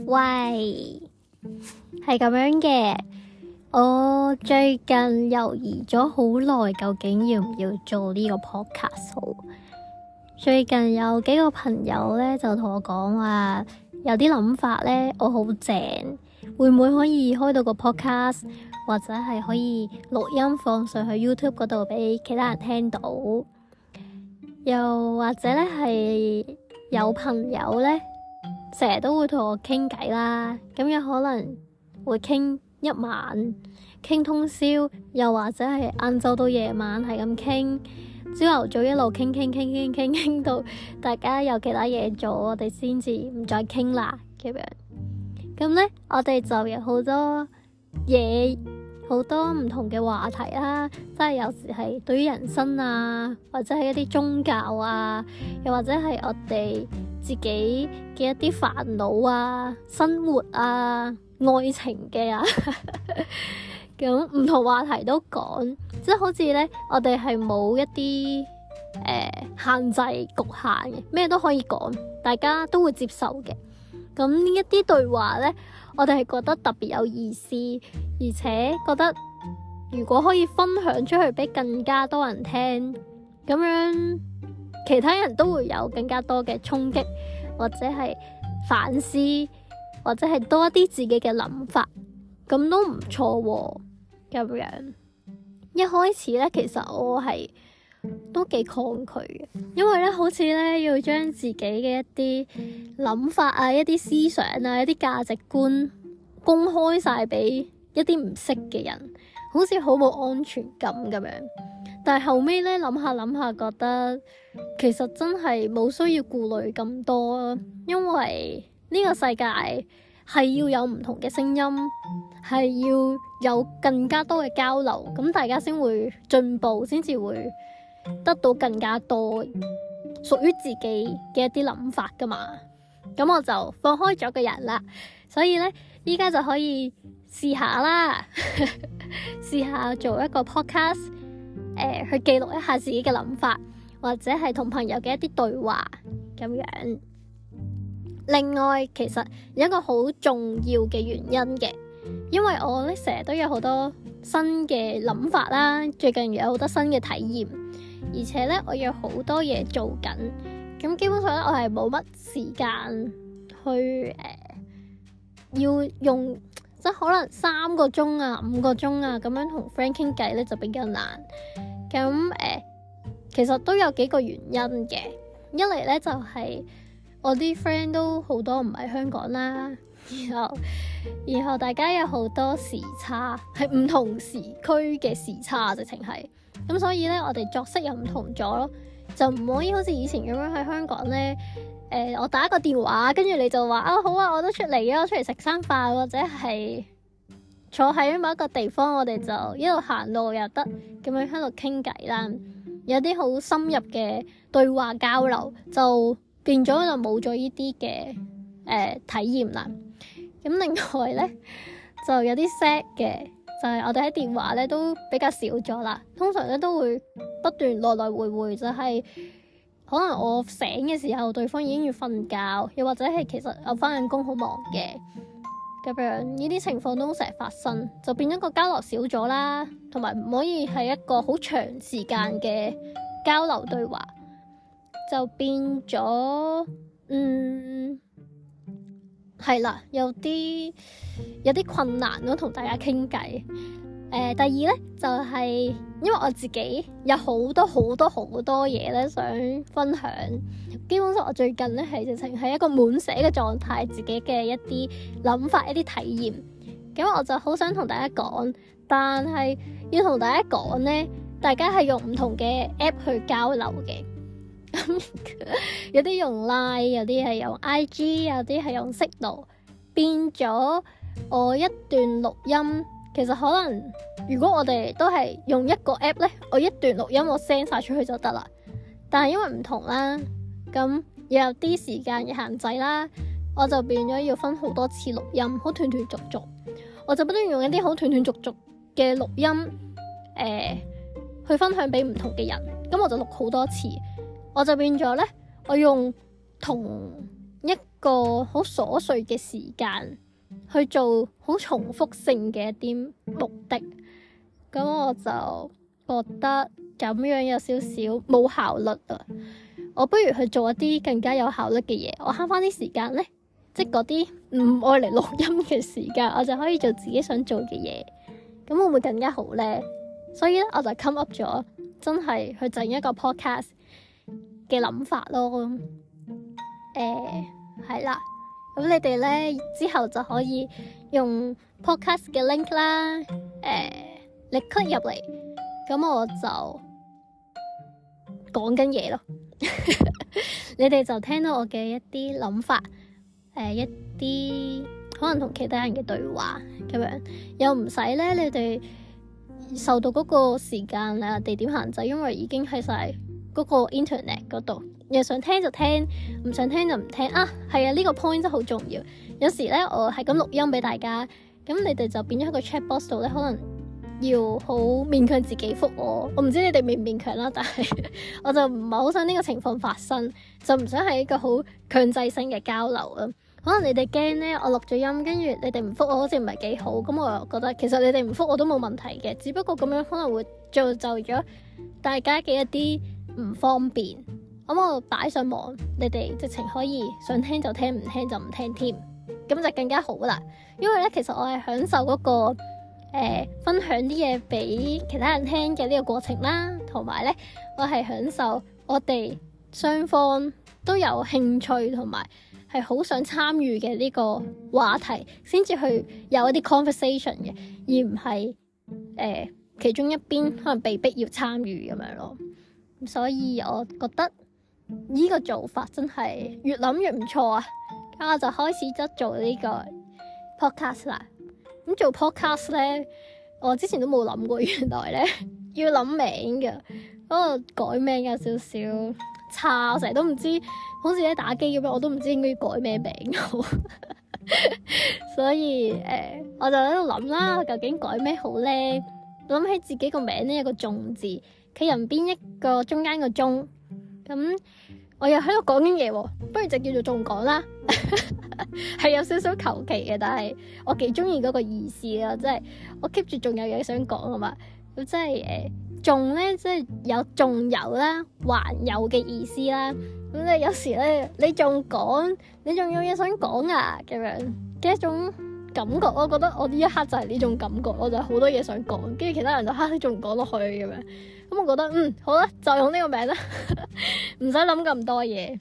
喂，係咁樣嘅。我最近猶豫咗好耐，究竟要唔要做呢個 podcast 好？最近有幾個朋友咧就同我講話，有啲諗法咧，我好正，會唔會可以開到個 podcast，或者係可以錄音放上去 YouTube 嗰度俾其他人聽到？又或者咧係有朋友咧，成日都會同我傾偈啦，咁有可能會傾一晚，傾通宵，又或者係晏晝到夜晚係咁傾，朝頭早一路傾到大家有其他嘢做，我哋先至唔再傾啦咁樣。咁咧，我哋就有好多嘢，好多唔同嘅話題啦，即係有時係對於人生啊，或者係一啲宗教啊，又或者係我哋自己嘅一啲煩惱啊、生活啊、愛情嘅啊，咁唔同話題都講，即係好似咧，我哋係冇一啲限制局限嘅，咩都可以講，大家都會接受嘅。咁呢一啲對話咧，我哋係覺得特別有意思，而且覺得如果可以分享出去俾更加多人聽，咁樣其他人都會有更加多嘅衝擊，或者係反思，或者係多一啲自己嘅諗法，咁都唔錯喎。咁樣一開始咧，其實我係都幾抗拒嘅，因為咧好似咧要將自己嘅一啲諗法啊、一啲思想啊、一啲價值觀公開晒俾一啲唔識嘅人，好似好冇安全感咁樣。但係後尾咧諗下，覺得其實真係冇需要顧慮咁多，因為呢個世界係要有唔同嘅聲音，係要有更加多嘅交流，咁大家先會進步，先至會得到更加多屬於自己嘅一啲諗法噶嘛。咁我就放開咗個人啦，所以咧依家就可以試下啦，試下做一個 podcast，去記錄一下自己嘅諗法，或者係同朋友嘅一啲對話咁樣。另外，其實有一個好重要嘅原因嘅，因為我咧成日都有好多新嘅諗法啦，最近有好多新嘅體驗，而且咧我有好多嘢做緊，咁基本上咧我係冇乜時間去要用，即係可能3個鐘啊、5個鐘啊咁樣同 friend 傾偈咧就比較難。咁其實都有幾個原因嘅，一嚟咧就係我啲 friend 都好多唔喺香港啦，然後大家有好多時差，係唔同時區嘅時差，直情係咁，所以咧我哋作息又唔同咗咯，就唔可以好似以前咁樣喺香港咧，我打一個電話，跟住你就話啊好啊，我都出嚟啊，我出嚟食餐飯，或者係坐喺某一個地方，我哋就一路行路又得，咁樣喺度傾偈啦，有啲好深入嘅對話交流，就變咗就冇咗呢啲嘅體驗啦。咁另外咧就有啲 sad 嘅，就係我哋喺電話咧都比較少咗啦。通常咧都會不斷來來回回，就係可能我醒嘅時候，對方已經要瞓覺，又或者係其實我返緊工好忙嘅咁樣，呢啲情況都成日發生，就變咗個交流少咗啦，同埋唔可以係一個好長時間嘅交流對話，就變咗係啦，有啲困難咯，同大家傾偈。第二咧就係因為我自己有好多嘢咧想分享，基本上我最近咧係直情係一個滿寫嘅狀態，自己嘅一啲諗法、一啲體驗，咁我就好想同大家講，但係要同大家講咧，大家係用唔同嘅 app 去交流嘅。有啲用 Line， 有啲係用 IG， 有啲係用 Signal， 變咗我一段錄音，其實可能如果我哋都係用一個 app 咧，我一段錄音我 send 晒出去就得啦。但係因為唔同啦，咁又有啲時間嘅限制啦，我就變咗要分好多次錄音，好斷續，我就不斷用一啲好斷續嘅錄音去分享俾唔同嘅人，咁我就錄好多次。我就變咗咧，我用同一個好瑣碎嘅時間去做好重複性嘅一啲目的，咁我就覺得咁樣有少少冇效率啊！我不如去做一啲更加有效率嘅嘢，我慳翻啲時間咧，即係嗰啲唔愛嚟錄音嘅時間，我就可以做自己想做嘅嘢，咁會唔會更加好咧？所以咧，我就 come up 咗真係去整一個 podcast 嘅諗法咯。係啦，咁你哋咧之後就可以用 podcast 嘅 link 啦，你 click 入嚟，咁我就講緊嘢咯。你哋就聽到我嘅一啲諗法，一啲可能同其他人嘅對話咁樣，又唔使咧你哋受到嗰個時間啊地點限制，因為已經喺晒嗰個 internet 嗰度，又想聽就聽，唔想聽就唔聽啊。係啊，呢個 point 真係好重要。有時咧我係咁錄音俾大家，咁你哋就變咗喺個 chat box 度咧，可能要好勉強自己覆我。我唔知你哋勉唔勉強啦，但係我就唔係好想呢個情況發生，就唔想係一個好強制性嘅交流啦。可能你哋驚咧，我錄咗音，跟住你哋唔覆我，好似唔係幾好。咁我又覺得其實你哋唔覆我都冇問題嘅，只不過咁樣可能會造就咗大家嘅一啲唔方便。咁我擺上網，你哋直情可以想聽就聽，唔聽就唔聽添，咁就更加好啦。因為咧，其實我係享受嗰個分享啲嘢俾其他人聽嘅呢個過程啦，同埋咧，我係享受我哋雙方都有興趣同埋係好想參與嘅呢個話題，先至去有一啲 conversation 嘅，而唔係其中一邊可能被逼要參與咁樣咯。所以我覺得呢個做法真係越諗越唔錯啊！咁我就開始咗做呢個 podcast 啦。咁做 podcast 咧，我之前都冇諗過，原來咧要諗名嘅，嗰個改名有少少差，我成日都唔知，好似喺打機咁樣，我都唔知應該要改咩名好。所以我就喺度諗啦，究竟改咩好咧？諗起自己個名咧有個仲字，企人邊一個中間個中，咁我又喺度講緊嘢喎，不如就叫做仲講啦。係有少少求其嘅，但係我幾中意嗰個意思啦，即係我 keep 住仲有嘢想講啊嘛。咁即係仲咧，即係有仲有啦，還有嘅意思啦。咁咧有時咧，你仲講，你仲有嘢想講啊，咁樣嘅一種感覺。我覺得我呢一刻就係呢種感覺，我就好多嘢想講，跟住其他人就你仲唔講落去咁樣。咁我覺得好啦，就用呢個名啦，唔使諗咁多嘢。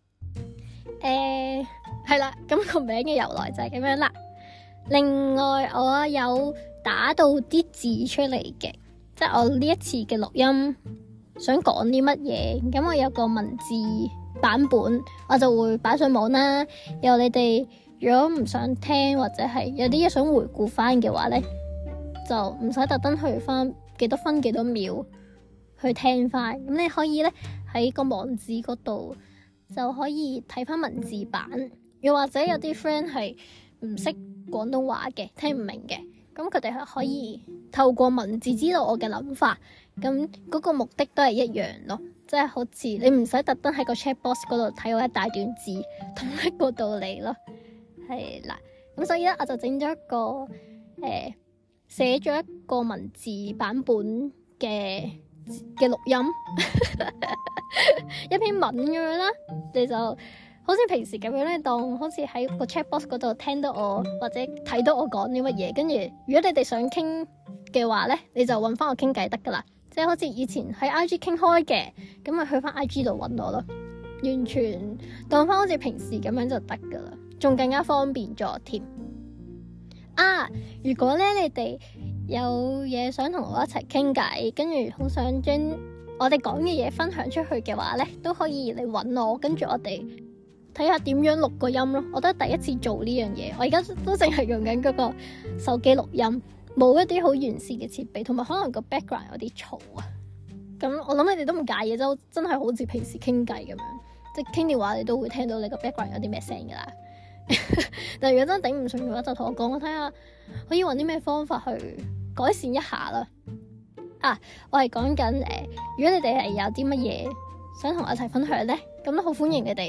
係啦，咁個名嘅由來就係咁樣啦。另外我有打到啲字出嚟嘅，即係我呢一次嘅錄音想講啲乜嘢，咁我有個文字版本，我就會擺上網啦。由你哋如果唔想聽或者係有啲嘢想回顧翻嘅話呢，就唔使特登去翻幾多分幾多秒去聽翻。咁你可以呢喺個網址嗰度就可以睇翻文字版。又或者有啲 friend 係唔識廣東話嘅，聽唔明嘅，咁佢哋係可以透過文字知道我嘅諗法，咁嗰個目的都係一樣咯，即係好似你唔使特登喺個 chat box 嗰度睇我一大段字，同一個道理咯，係啦。咁所以咧，我就整咗一個寫咗一個文字版本嘅錄音，一篇文咁樣啦，你就好似平時咁樣咧，當好似喺個 chat box 嗰度聽到我或者睇到我講啲乜嘢，跟住如果你哋想傾嘅話咧，你就搵翻我傾偈得噶啦，即係好似以前喺 IG 傾開嘅，咁咪去翻 IG 度搵我咯，完全當翻好似平時咁樣就得噶啦，仲更加方便咗添。啊，如果咧你哋有嘢想同我一齊傾偈，跟住好想將我哋講嘅嘢分享出去嘅話咧，都可以嚟搵我，跟住我哋睇下點樣錄個音咯。我都係第一次做呢樣嘢，我而家都淨係用緊嗰個手機錄音，冇一啲好完善嘅設備，同埋可能個 background 有啲嘈啊。咁我諗你哋都唔介意，就真係好似平時傾偈咁樣，即係傾電話你都會聽到你個 background 有啲咩聲噶啦。但係如果真係頂唔順嘅話，就同我講，我睇下可以揾啲咩方法去改善一下啦。啊，我係講緊如果你哋係有啲乜嘢想同我一齊分享咧，咁都好歡迎你哋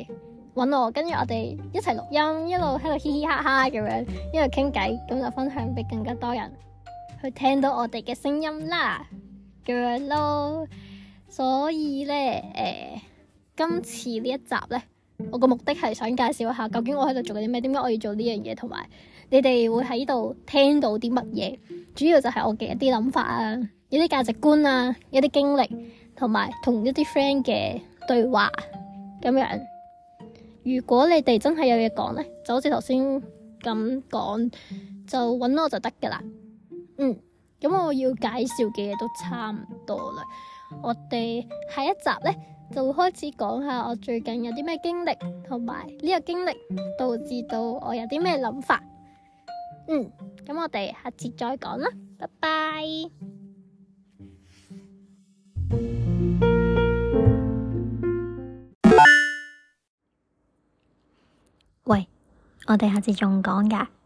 揾我，跟住我哋一齊錄音，一路喺度嘻嘻哈哈咁樣，一路傾偈，咁就分享俾更加多人去聽到我哋嘅聲音啦，咁樣咯。所以咧，今次呢一集咧，我個目的係想介紹一下究竟我喺度做緊啲咩，點解我要做呢樣嘢，同埋你哋會喺度聽到啲乜嘢。主要就係我嘅一啲諗法啊，一啲價值觀啊，一啲經歷，同埋同一啲 friend 嘅對話咁樣。如果你哋真係有嘢講咧，就好似頭先咁講，就揾我就得噶啦。咁我要介紹嘅嘢都差唔多啦。我哋下一集咧就會開始講下我最近有啲咩經歷，同埋呢個經歷導致到我有啲咩諗法。咁我哋下次再講啦，拜拜。 喂，我哋下次仲講㗎。